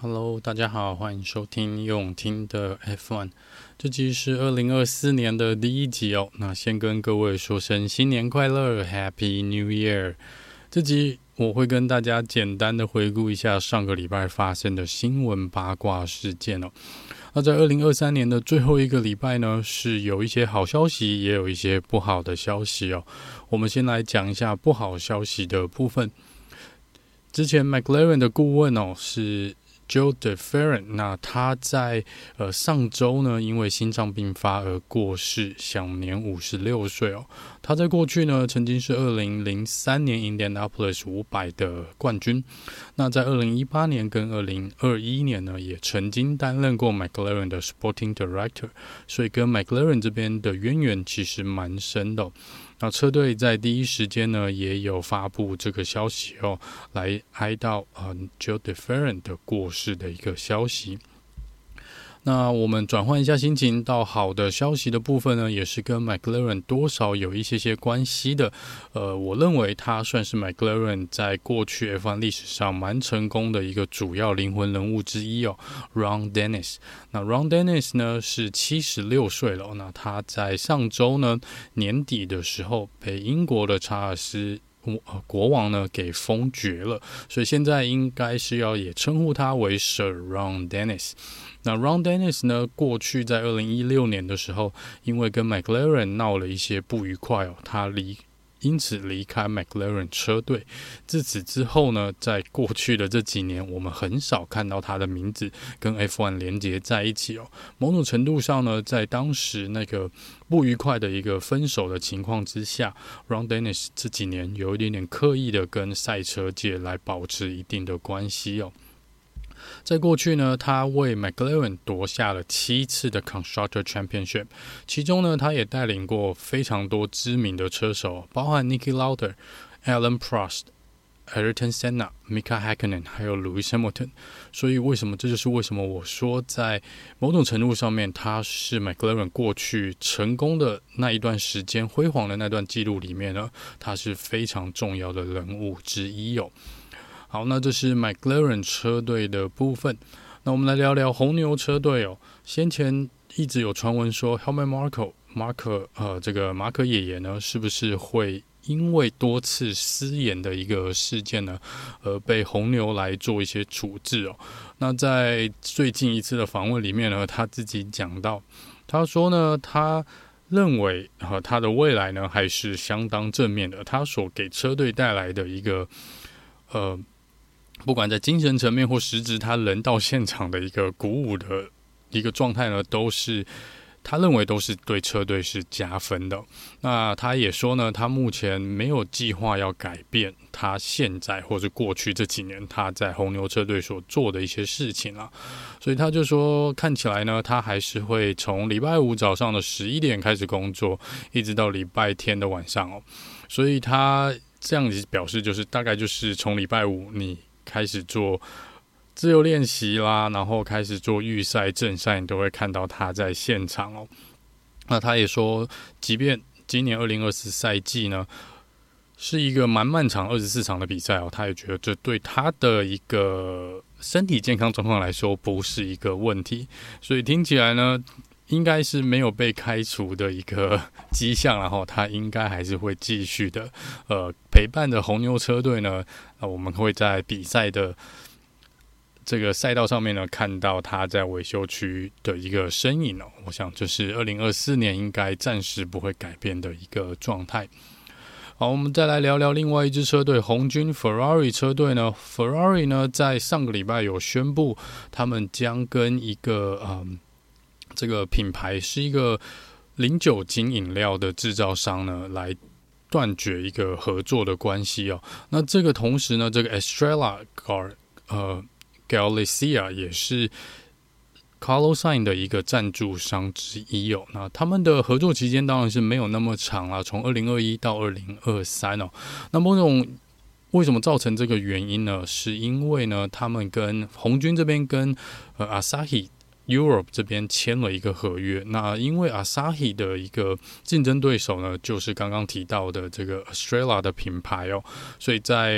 Hello， 大家好，歡迎收聽用聽的 F1。這集是2024年的第一集哦。那先跟各位說聲新年快樂 ，Happy New Year。這集我會跟大家簡單的回顧一下上個禮拜發生的新聞八卦事件哦。那在2023年的最後一個禮拜呢，是有一些好消息，也有一些不好的消息哦。我們先來講一下不好消息的部分。之前 McLaren 的顧問哦是Joe DeFerran， 那他在上周呢，因為心臟病發而過世，享年56歲哦。他在過去呢，曾經是2003年 Indianapolis 500的冠軍。那在2018年跟2021年呢，也曾經擔任過 McLaren 的 Sporting Director， 所以跟 McLaren 這邊的淵源其實蠻深的哦。那車隊在第一時間呢，也有發布這個消息哦，來哀悼Joe DeFerran 的過世的一個消息。那我們轉換一下心情，到好的消息的部分呢，也是跟 McLaren 多少有一些關係的。我認為他算是 McLaren 在過去 F1 歷史上蠻成功的一個主要靈魂人物之一哦 ，Ron Dennis。那 Ron Dennis 呢是76歲了，那他在上周呢年底的時候被英國的查爾斯國王呢給封爵了，所以現在應該是要也稱呼他為 Sir Ron Dennis。那 Ron Dennis 呢，過去在2016年的時候，因為跟 McLaren 鬧了一些不愉快哦，他因此離開 McLaren 車隊。自此之後呢，在過去的這幾年，我們很少看到他的名字跟 F1 連接在一起哦。某種程度上呢，在當時那個不愉快的一個分手的情況之下， Ron Dennis 這幾年有一點點刻意的跟賽車界來保持一定的關係哦。在過去呢，他為 McLaren 奪下了7次的 Constructor Championship， 其中呢，他也帶領過非常多知名的車手，包含 Niki Lauda、Alan Prost、Ayrton Senna、Mika Häkkinen 還有 Lewis Hamilton。所以這就是為什麼我說在某種程度上面，他是 McLaren 過去成功的那一段時間輝煌的那段記錄裡面呢，他是非常重要的人物之一哦。好，那這是 McLaren 車隊的部分。那我們來聊聊紅牛車隊哦。先前一直有傳聞說 Helmut Marko 這個馬可爺爺呢，是不是會因為多次失言的一個事件呢，而被紅牛來做一些處置哦？那在最近一次的訪問裡面呢，他自己講到，他說呢，他認為他的未來呢還是相當正面的。他所給車隊帶來的一個不管在精神層面或實質，他人到現場的一個鼓舞的一個狀態呢，都是他認為都是對車隊是加分的。那他也說呢，他目前沒有計劃要改變他現在或是過去這幾年他在紅牛車隊所做的一些事情啦。所以他就說，看起來呢，他還是會從禮拜五早上的11點開始工作，一直到禮拜天的晚上哦。所以他這樣子表示，就是大概就是從禮拜五你開始做自由練習啦，然後開始做預賽、正賽，你都會看到他在現場哦。那他也說，即便今年2024賽季呢是一個蠻漫長24場的比賽哦，他也覺得這對他的一個身體健康狀況來說不是一個問題，所以聽起來呢，應該是沒有被開除的一個跡象，然後他應該還是會繼續的陪伴着紅牛車隊呢。我們會在比賽的這個賽道上面呢，看到他在維修區的一個身影哦。我想這是2024年應該暫時不會改變的一個狀態。好，我們再來聊聊另外一支車隊紅軍 Ferrari 車隊呢。Ferrari 呢在上個禮拜有宣布，他們將跟一個這個品牌是一個零酒精飲料的製造商呢，來斷絕一個合作的關係哦。那這個同時呢，這個 Estrella Galicia 也是 Carlos Sainz 的一個贊助商之一哦。那他們的合作期間當然是沒有那麼長啦，從2021到2023哦。那為什麼造成這個原因呢？是因為呢，他們跟紅軍這邊跟Asahi Europe 這邊簽了一個合約，那因為 Asahi 的一個競爭對手呢，就是剛剛提到的這個 Estrella 的品牌哦，所以在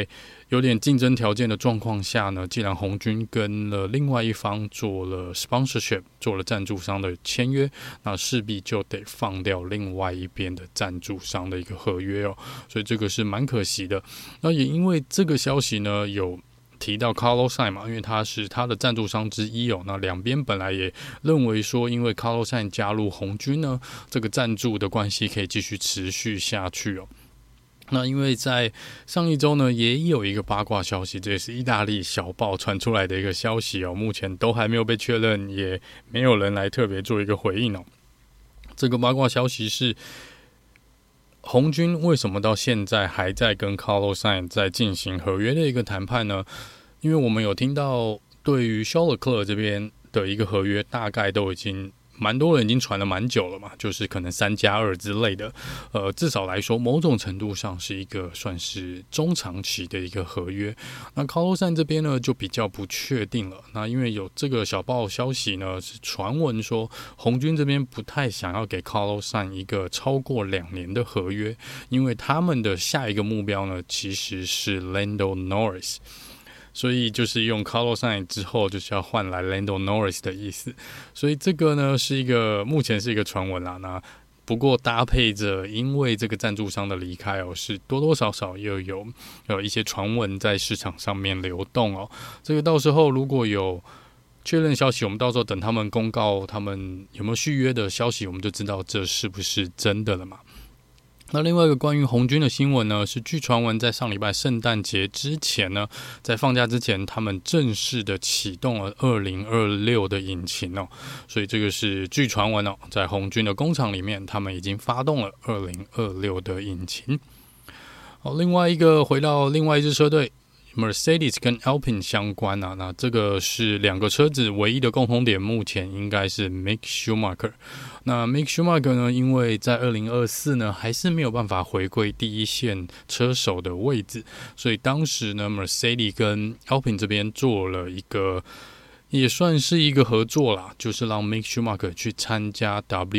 有點競爭條件的狀況下呢，既然紅軍跟了另外一方做了 sponsorship， 做了贊助商的簽約，那勢必就得放掉另外一邊的贊助商的一個合約哦，所以這個是蠻可惜的。那也因為這個消息呢，有提到 Carlos Sainz 嘛，因為他是他的贊助商之一哦。那兩邊本來也認為說，因為 Carlos Sainz 加入紅軍呢，這個贊助的關係可以繼續持續下去哦。那因為在上一周呢，也有一個八卦消息，這也是意大利小報傳出來的一個消息哦，目前都還沒有被確認，也沒有人來特別做一個回應哦。這個八卦消息是，紅軍為什麼到現在還在跟 Carlos Sainz 在進行合約的一個談判呢？因為我們有聽到，對於肖勒克勒這邊的一個合約，大概都已經蠻多人已經傳了蠻久了嘛，就是可能3+2之類的，至少來說，某種程度上是一個算是中長期的一個合約。那 Carlos Sainz 這邊呢，就比較不確定了。那因為有這個小報消息呢，是傳聞說紅軍這邊不太想要給 Carlos Sainz 一個超過2年的合約，因為他們的下一個目標呢，其實是 Lando Norris。所以就是用 Carlos Sainz 之後就是要換來 Lando Norris 的意思，所以這個呢是目前是一個傳聞啦。那不過搭配着因為這個贊助商的離開哦，是多多少少又有一些傳聞在市場上面流動哦。這個到時候如果有確認消息，我們到時候等他們公告他們有沒有續約的消息，我們就知道這是不是真的了嘛。那另外一個關於紅軍的新聞呢，是據傳聞在上禮拜聖誕節之前呢，在放假之前，他們正式的啟動了2026的引擎哦，所以這個是據傳聞哦，在紅軍的工廠裡面，他們已經發動了2026的引擎。好，另外一個回到另外一支車隊。Mercedes 跟 Alpine 相關啊，那這個是兩個車子唯一的共同點，目前應該是 Mick Schumacher。那 Mick Schumacher 呢，因為在2024呢，還是沒有辦法回歸第一線車手的位置，所以當時呢 Mercedes 跟 Alpine 這邊做了一個，也算是一個合作啦，就是讓 Mick Schumacher 去參加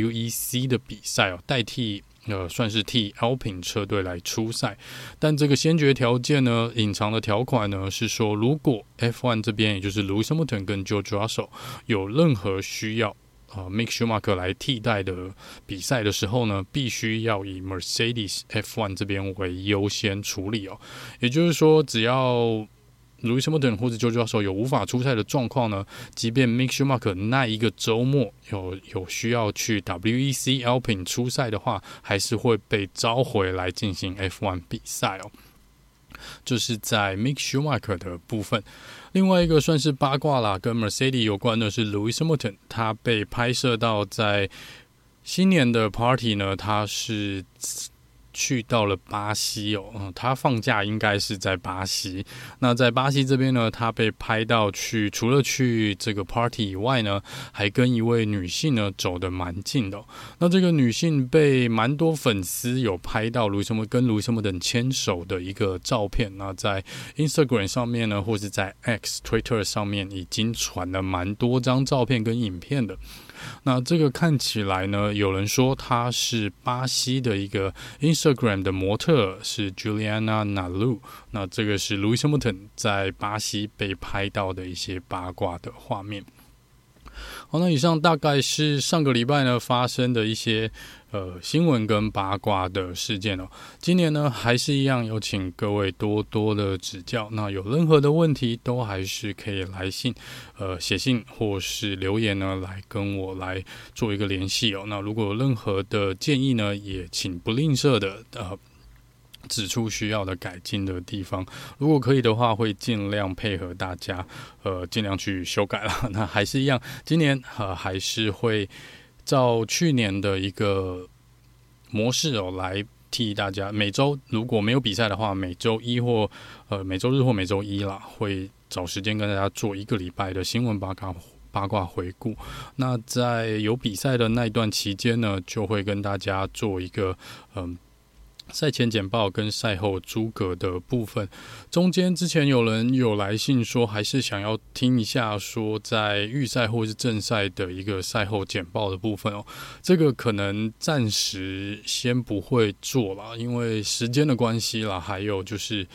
WEC 的比賽哦，代替算是替 Alpine 車隊來出賽，但這個先決條件呢，隱藏的條款呢是說，如果 F1 這邊，也就是 Lewis Hamilton 跟 George Russell 有任何需要Mick Schumacher 來替代的比賽的時候呢，必須要以 Mercedes F1 這邊為優先處理哦。也就是說，只要Lewis Hamilton 或者 George Russell 有無法出賽的狀況呢，即便 Mick Schumacher 那一個週末有需要去 WEC Alpine 出賽的話，還是會被召回來進行 F1 比賽哦。就是在 Mick Schumacher 的部分。另外一個算是八卦啦，跟 Mercedes 有關的是 Lewis Hamilton， 他被拍攝到在新年的 Party 呢，他是去到了巴西哦，他放假應該是在巴西。那在巴西這邊呢，他被拍到除了去這個 party 以外呢，還跟一位女性呢走得蠻近的哦。那這個女性被蠻多粉絲有拍到跟 Lewis Hamilton 牽手的一個照片。那在 Instagram 上面呢，或是在 Twitter 上面已經傳了蠻多張照片跟影片的。那這個看起來呢，有人說她是巴西的一個 Instagram 的模特，是 Juliana Nalu。那這個是 Lewis Hamilton 在巴西被拍到的一些八卦的畫面。好，那以上大概是上個禮拜呢發生的一些新聞跟八卦的事件哦。今年呢還是一樣，有請各位多多的指教。那有任何的問題都還是可以來信寫信或是留言呢來跟我來做一個聯繫哦。那如果有任何的建議呢，也請不吝嗇的指出需要的改進的地方，如果可以的話，會盡量配合大家，盡量去修改啦。那還是一樣，今年還是會照去年的一個模式哦，來替大家每周如果沒有比賽的話，每周一或每周日或每周一啦，會找時間跟大家做一個禮拜的新聞八卦回顧。那在有比賽的那一段期間呢，就會跟大家做一個賽前簡報跟賽後諸葛的部分。中間之前有人有來信說，還是想要聽一下說在預賽或是正賽的一個賽後簡報的部分哦。這個可能暫時先不會做啦，因為時間的關係啦，還有就是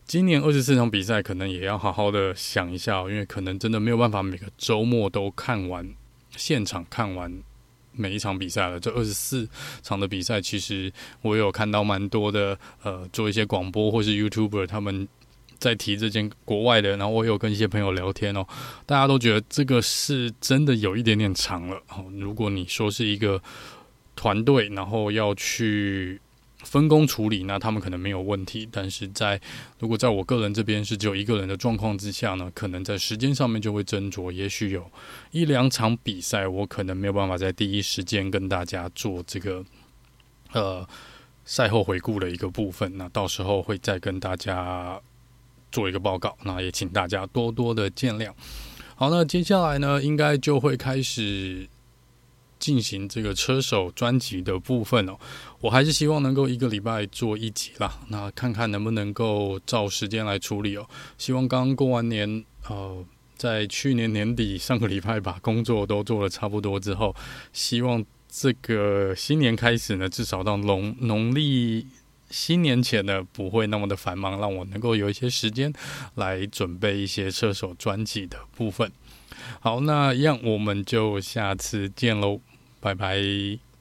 今年24場比賽可能也要好好的想一下，因為可能真的沒有辦法每個週末都看完，現場看完每一場比賽了。這24場的比賽，其實我有看到蠻多的做一些廣播或是 YouTuber 他們在提這件國外的，然後我有跟一些朋友聊天哦，大家都覺得這個是真的有一點點長了。如果你說是一個團隊，然後要去分工處理，那他們可能沒有問題，但是如果在我個人這邊是只有一個人的狀況之下呢，可能在時間上面就會斟酌，也許有1-2場比賽，我可能沒有辦法在第一時間跟大家做這個賽後回顧的一個部分，那到時候會再跟大家做一個報告，那也請大家多多的見諒。好，那接下來呢，應該就會開始進行這個車手專輯的部分哦。我還是希望能夠一個禮拜做一集啦，那看看能不能夠照時間來處理哦。希望剛過完年，在去年年底上個禮拜把工作都做了差不多之后，希望這個新年開始呢，至少到農曆新年前呢，不會那麼的繁忙，讓我能夠有一些時間來準備一些車手專輯的部分。好，那一樣我們就下次見嘍，拜拜。